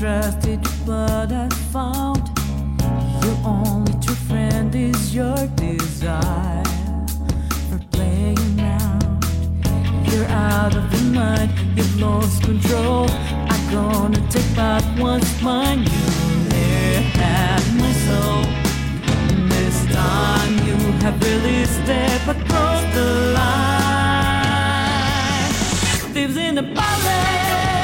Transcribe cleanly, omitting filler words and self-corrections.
trusted what I found. Your only true friend is your desire for playing out. You're out of your mind, you've lost control. I'm gonna take back what's mine. You had my soul. This time you have really stepped across the line. Lives in a ballet.